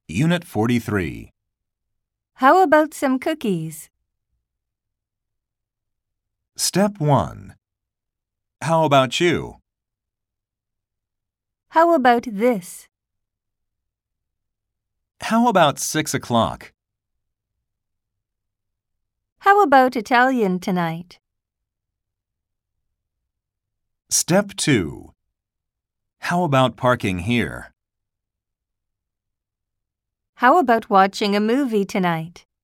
Unit 43. How about some cookies? Step 1. How about you? How about this? How about 6 o'clock? How about Italian tonight? Step 2. How about parking here? How about watching a movie tonight?